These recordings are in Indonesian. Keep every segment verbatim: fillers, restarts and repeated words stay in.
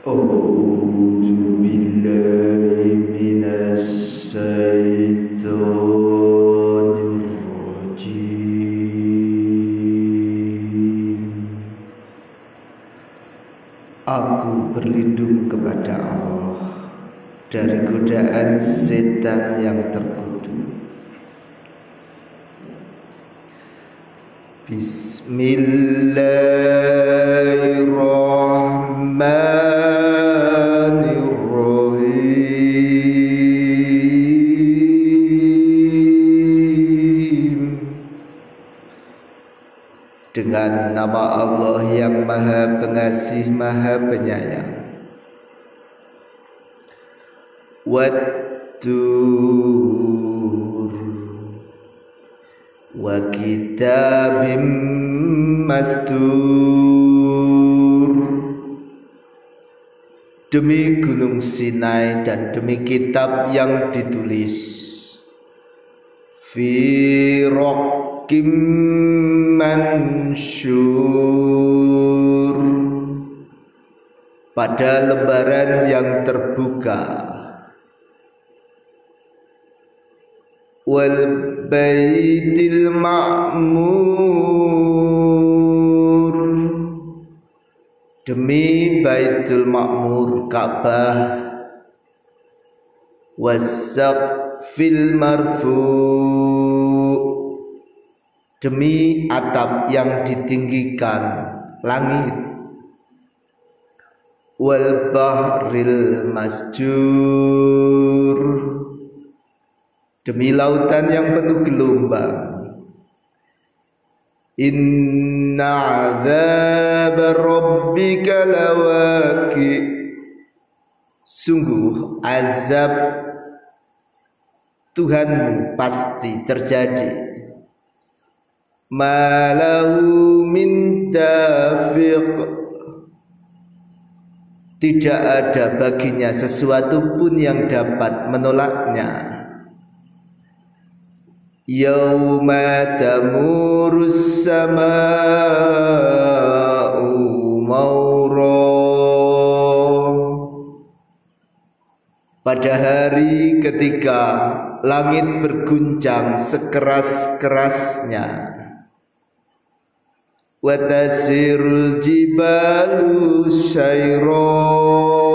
A'udzu billahi minasy syaithanir rajim. Aku berlindung kepada Allah dari godaan setan yang terkutuk. Bismillahirrahmanirrahim. Dengan nama Allah yang Maha Pengasih, Maha Penyayang. Wat-tur wa kitabim mastur. Demi gunung Sinai dan demi kitab yang ditulis. Fi raqim mansyur. Pada lembaran yang terbuka. Wal baitil ma'mur. Demi Baitul Ma'mur, Ka'bah. Wassaqfil marfu'. Demi atap yang ditinggikan, langit. Wal bahril masjur. Demi lautan yang penuh gelombang. Inna azab rabbika lawaqi. Sungguh azab Tuhanmu pasti terjadi. Ma lahu min dafiq. Tidak ada baginya sesuatu pun yang dapat menolaknya. Yauma tamurus sama'u maura. Pada hari ketika langit berguncang sekeras-kerasnya. Wa tasirul jibalu syaira.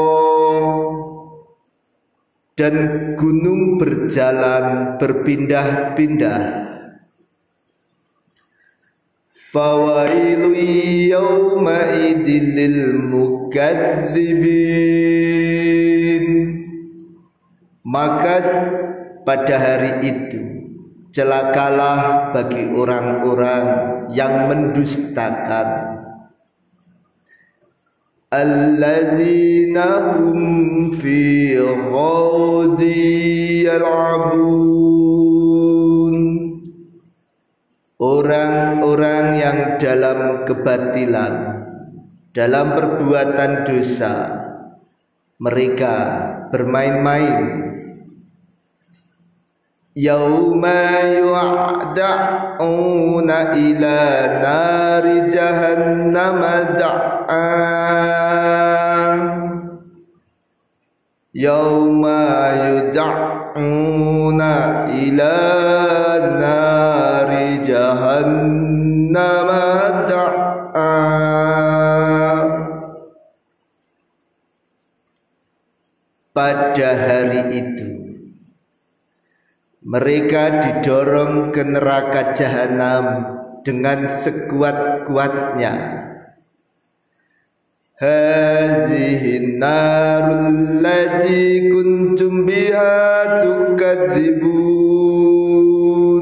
Dan gunung berjalan berpindah-pindah. Fawailu yawma idil mukadzibin. Maka pada hari itu celakalah bagi orang-orang yang mendustakan. Allazina hum fi ghawdi yal'abun. Orang-orang yang dalam kebatilan, dalam perbuatan dosa, mereka bermain-main. Yauma yu'da'una ila nari jahannam da'a. Yauma yud'una ila nari jahannam da'a. Pada hari itu mereka didorong ke neraka jahanam dengan sekuat-kuatnya. Hadhihi narul lati kuntum biha tukadzibun.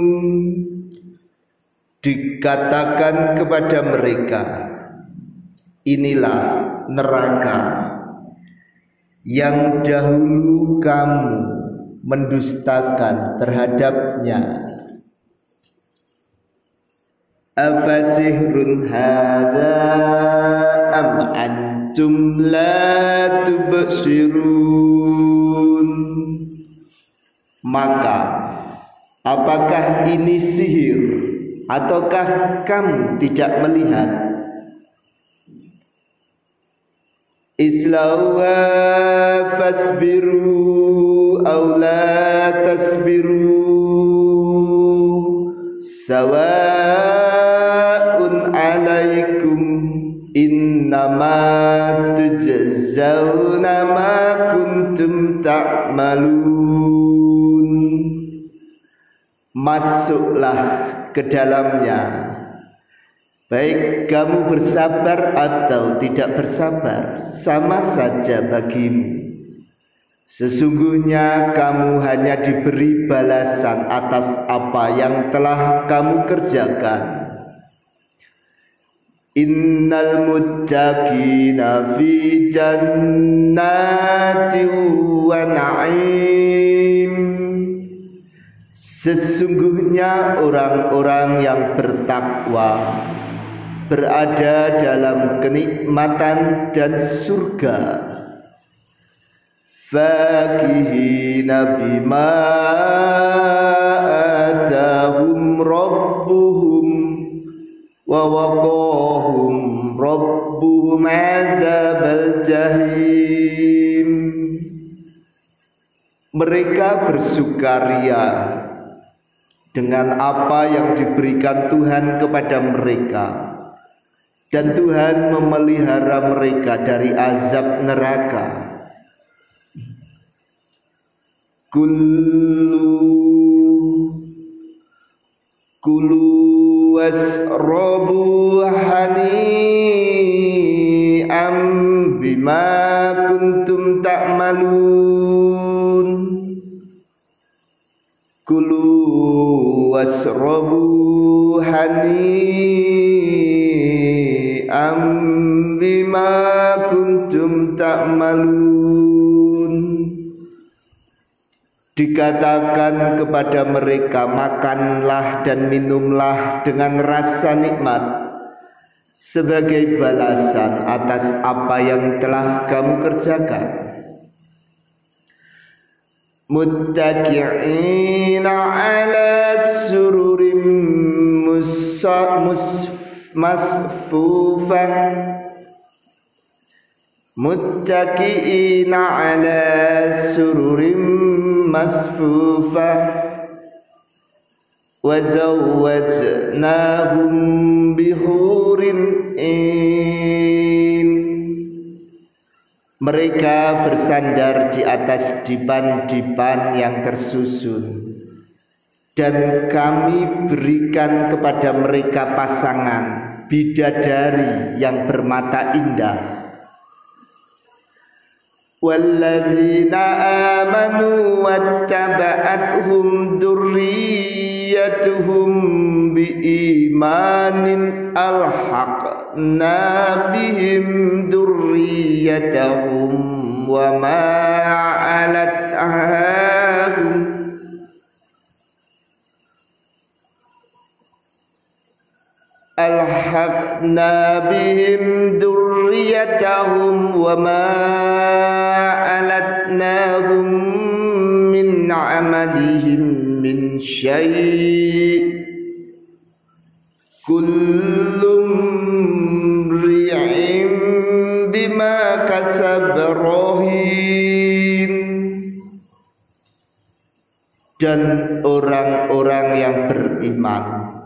Dikatakan kepada mereka, inilah neraka yang dahulu kamu mendustakan terhadapnya. Afasihrun hadza am antum la tubsirun. Maka apakah ini sihir ataukah kamu tidak melihat? islauha fasbiru aw la tasbiru sawa'un alaikum innama tujzauna ma kuntum ta'malun. Masuklah ke dalamnya, baik kamu bersabar atau tidak bersabar, sama saja bagimu. Sesungguhnya kamu hanya diberi balasan atas apa yang telah kamu kerjakan. Innal muttaqina fi jannati wa na'im. Sesungguhnya orang-orang yang bertakwa berada dalam kenikmatan dan surga. Fakihina bima atahum rabbuhum wa waqahum rabbuhum adzabal jahim. Mereka bersukaria dengan apa yang diberikan Tuhan kepada mereka, dan Tuhan memelihara mereka dari azab neraka. Kullu kulu wasrabu hani'am bima kuntum ta'malun. Kulu wasrabu hani'am bima kuntum ta'malun. Dikatakan kepada mereka, makanlah dan minumlah dengan rasa nikmat sebagai balasan atas apa yang telah kamu kerjakan. Muttaqi'ina ala sururim masfufah. Muttaqi'ina ala sururim masfufah wa zawwajnahum bihurin in. Mereka bersandar di atas dipan-dipan yang tersusun, dan kami berikan kepada mereka pasangan bidadari yang bermata indah. Walladzina amanu wattaba'athum dzurriyyatuhum biimanin alhaqna bihim dzurriyyatahum wa ma alatahum alhaqna bihim dzurriyyatahum wa ma alatnahum min amalihim min syai' kullum ri'im bima kasab rahin. Dan orang-orang yang beriman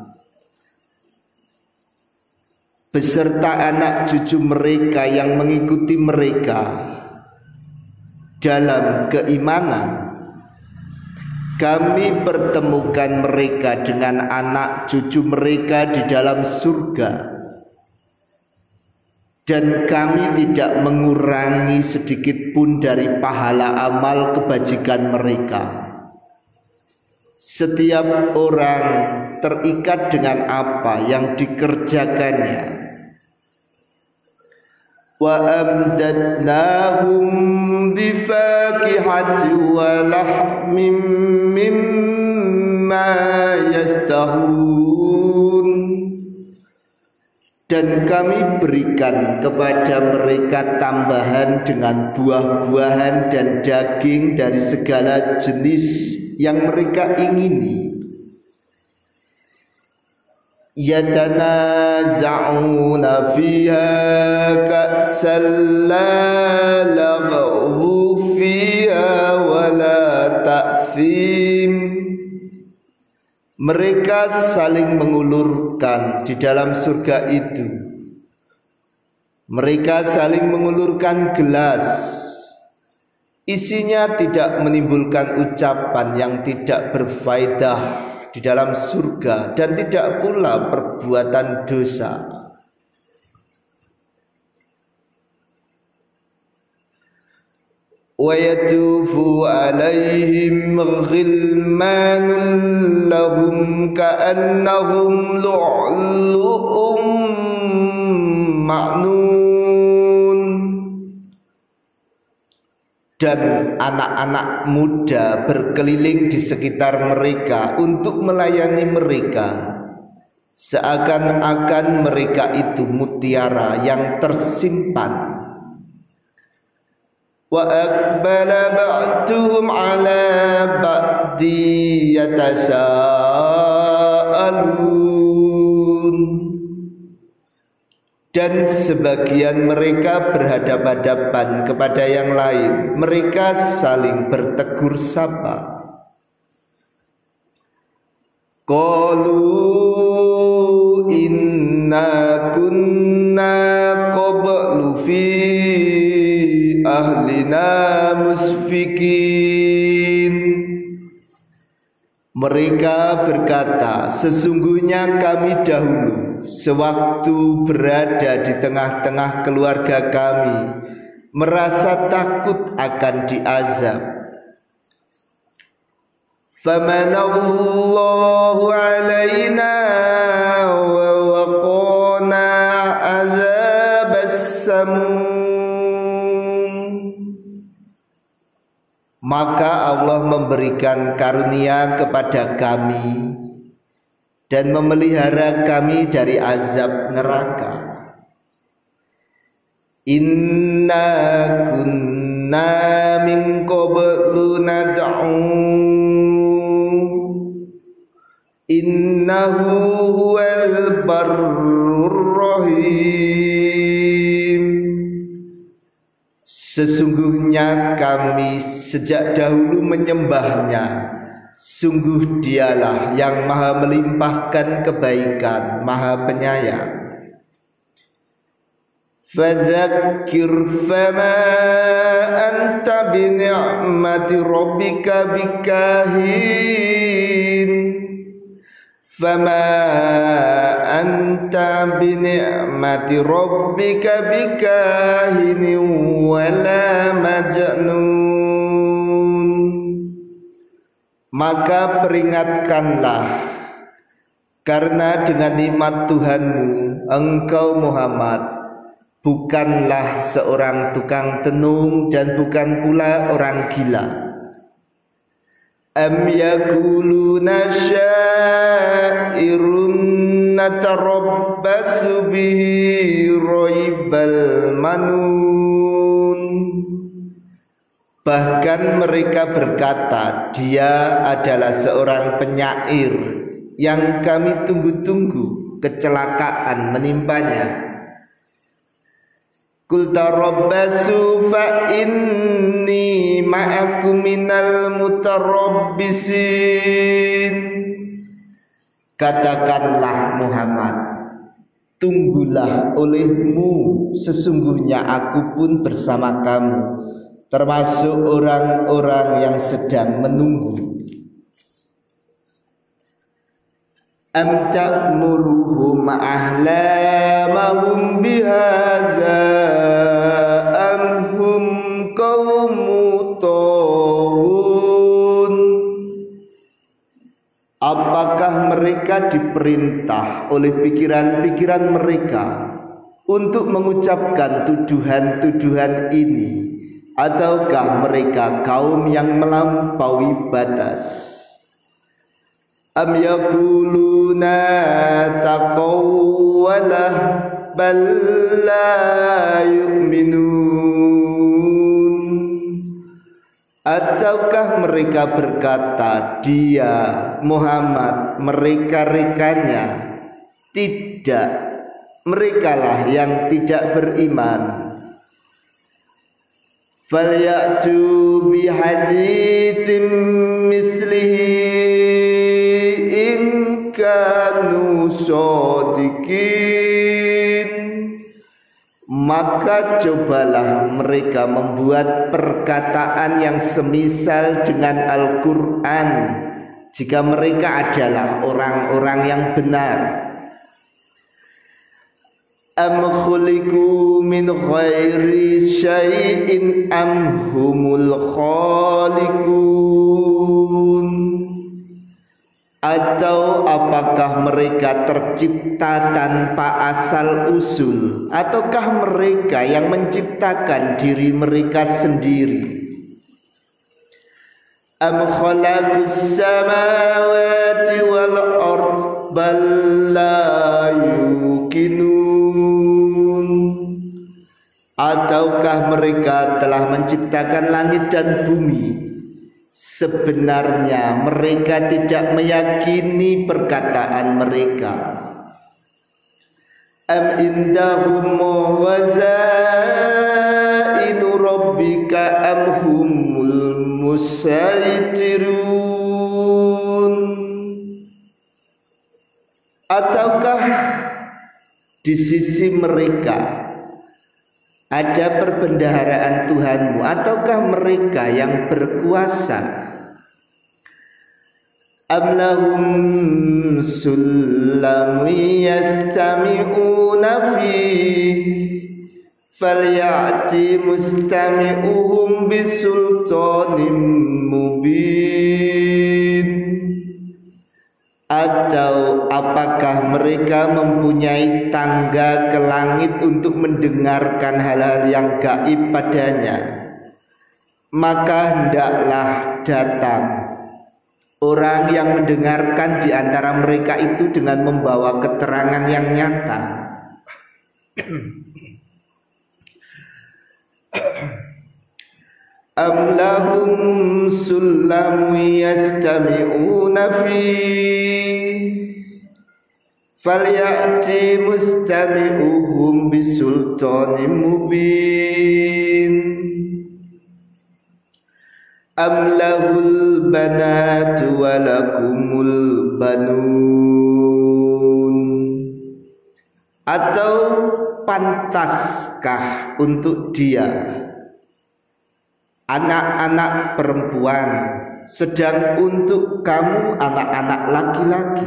beserta anak cucu mereka yang mengikuti mereka dalam keimanan, kami pertemukan mereka dengan anak cucu mereka di dalam surga, dan kami tidak mengurangi sedikit pun dari pahala amal kebajikan mereka. Setiap orang terikat dengan apa yang dikerjakannya. Wa amdadnahum bifakihati wa lahmim mimma yastahun. Dan kami berikan kepada mereka tambahan dengan buah-buahan dan daging dari segala jenis yang mereka ingini. yatanaza'una fiha ka'san la laghu fiha wala ta'thim. Mereka saling mengulurkan di dalam surga itu. Mereka saling mengulurkan gelas, isinya tidak menimbulkan ucapan yang tidak berfaedah di dalam surga dan tidak pula perbuatan dosa. Wa yatufu alaihim ghilmanun lahum ka'annahum lu'lu'um ma'nun. Dan anak-anak muda berkeliling di sekitar mereka untuk melayani mereka, seakan-akan mereka itu mutiara yang tersimpan. Wa aqbala ba'duhum 'ala ba'di yatasaalun. Dan sebagian mereka berhadapan-hadapan kepada yang lain. Mereka saling bertegur sapa. Qalu inna kunna qablu fi ahlina musfikin. Mereka berkata, sesungguhnya kami dahulu sewaktu berada di tengah-tengah keluarga kami merasa takut akan diazab. Famanallahu alaina wa waqana azabas samum. Maka Allah memberikan karunia kepada kami dan memelihara kami dari azab neraka. Inna kunna min qablu nad'u innahu huwal barrur rahim. Sesungguhnya kami sejak dahulu menyembahnya. Sungguh dialah yang maha melimpahkan kebaikan, maha penyayang. Fadzakir fama anta bini'mati rabbika bikahin. Fama anta bini'mati rabbika bikahin wala majnun. Maka peringatkanlah, karena dengan nikmat Tuhanmu engkau Muhammad bukanlah seorang tukang tenung dan bukan pula orang gila. Am yaquluna syairun natarabbasu bihi raibal manun. Bahkan mereka berkata, dia adalah seorang penyair yang kami tunggu-tunggu kecelakaan menimpanya. Qul tarabbasu fa inni ma'akum minal mutarabbisin. Katakanlah Muhammad, tunggulah olehmu, sesungguhnya aku pun bersama kamu, termasuk orang-orang yang sedang menunggu. Am ta'muruhum ahlamahum bihadza am hum qaumu taghun. Apakah mereka diperintah oleh pikiran-pikiran mereka untuk mengucapkan tuduhan-tuduhan ini, ataukah mereka kaum yang melampaui batas? Am yaquluna taqawwalah bal la yu'minun. Ataukah mereka berkata, dia Muhammad mereka-rekanya tidak, merekalah yang tidak beriman. Falyatu bihaditsim mislihi in kanu shadiqin. Maka cobalah mereka membuat perkataan yang semisal dengan Al-Quran jika mereka adalah orang-orang yang benar. Am khuliqu min ghairi syai'in am humul khaliqun. Atau apakah mereka tercipta tanpa asal usul, ataukah mereka yang menciptakan diri mereka sendiri? Am khalaqus samawati wal ard bal la yuqinun. Ataukah mereka telah menciptakan langit dan bumi? Sebenarnya mereka tidak meyakini perkataan mereka. Am indahum wazainu rabbika am humul musaitirun. Ataukah di sisi mereka ada perbendaharaan Tuhanmu, ataukah mereka yang berkuasa? Am lahum sullamun yastami'una fihi falyati mustami'uhum bisultanim mubin. Atau apakah mereka mempunyai tangga ke langit untuk mendengarkan hal-hal yang gaib padanya? Maka hendaklah datang orang yang mendengarkan di antara mereka itu dengan membawa keterangan yang nyata. Am lahum sullamun yastami'una fihi falyati mustami'uhum bisultanim mubin. Am lahul banatu wa lakumul banun. Atau pantaskah untuk dia anak-anak perempuan, sedang untuk kamu anak-anak laki-laki?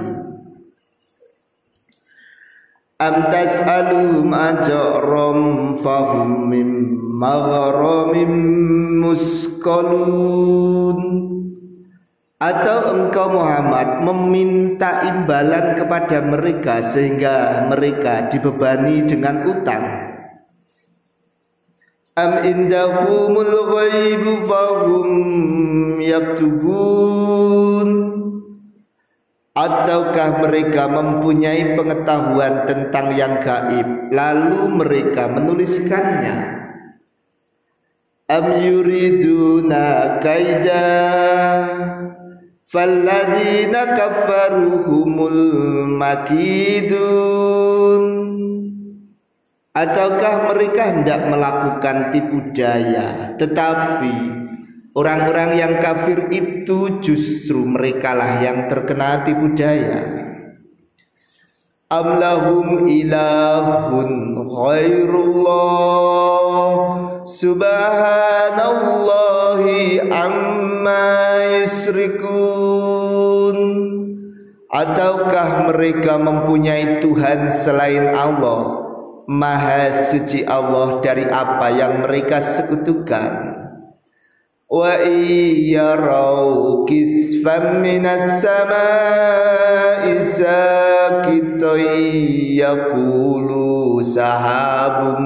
Am tas'aluhum ajram fahum mim maghramim musqalun. Atau engkau Muhammad meminta imbalan kepada mereka sehingga mereka dibebani dengan utang. Am indahumul ghaibu fahum yaktubun. Ataukah mereka mempunyai pengetahuan tentang yang gaib lalu mereka menuliskannya? Am yuriduna kaida falladzina kafaru humul makidun. Ataukah mereka hendak melakukan tipu daya, tetapi orang-orang yang kafir itu justru merekalah yang terkena tipu daya. Am lahum ilahun ghairullah subhanallahi amma yusrikun. Ataukah mereka mempunyai Tuhan selain Allah? Maha suci Allah dari apa yang mereka sekutukan. Wa iyarau kisfam minas samai sakitoi yaqulu sahabum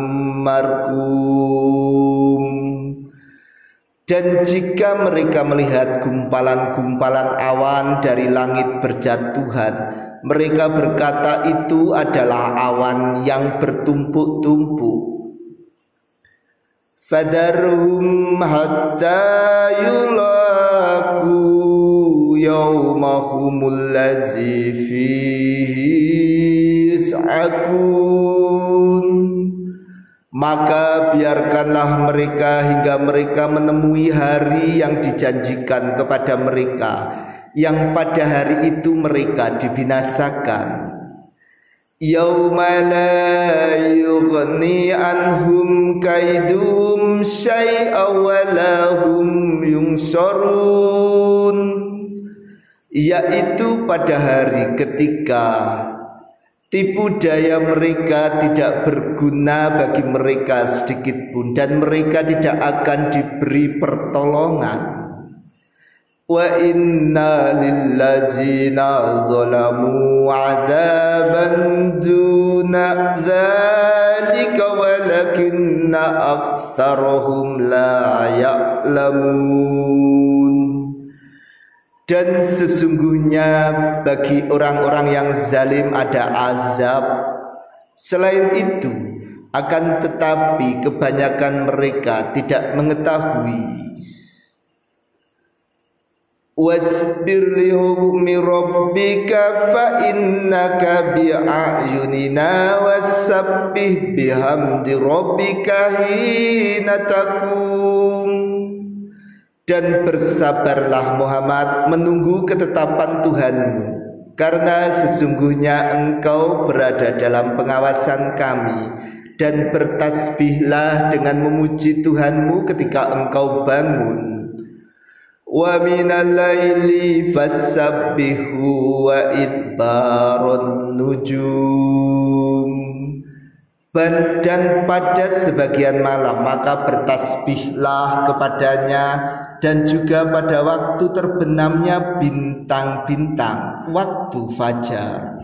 markum. Dan jika mereka melihat gumpalan-gumpalan awan dari langit berjatuhan, mereka berkata itu adalah awan yang bertumpuk-tumpuk. Fadarhum hatta yulaku yawmahumul ladzi fihi yus'akun. Maka biarkanlah mereka hingga mereka menemui hari yang dijanjikan kepada mereka, yang pada hari itu mereka dibinasakan. Yauma la yughni anhum kaidum syai'a wa lahum yungsarun, yaitu pada hari ketika tipu daya mereka tidak berguna bagi mereka sedikit pun, dan mereka tidak akan diberi pertolongan. Wa inna lillazina zalamu azaban duna dzalika walakinna aktsarahum la ya'lamun. Dan sesungguhnya bagi orang-orang yang zalim ada azab selain itu, akan tetapi kebanyakan mereka tidak mengetahui. Wasbir li hukmi rabbika fa innaka bi'ayunina wasabbih bihamdi rabbika hina taqum. Dan bersabarlah Muhammad menunggu ketetapan Tuhanmu, karena sesungguhnya engkau berada dalam pengawasan kami, dan bertasbihlah dengan memuji Tuhanmu ketika engkau bangun. Wa minal laili fassabbihu wa idbarun nujum. Dan pada sebagian malam maka bertasbihlah kepadanya, dan juga pada waktu terbenamnya bintang-bintang, waktu fajar.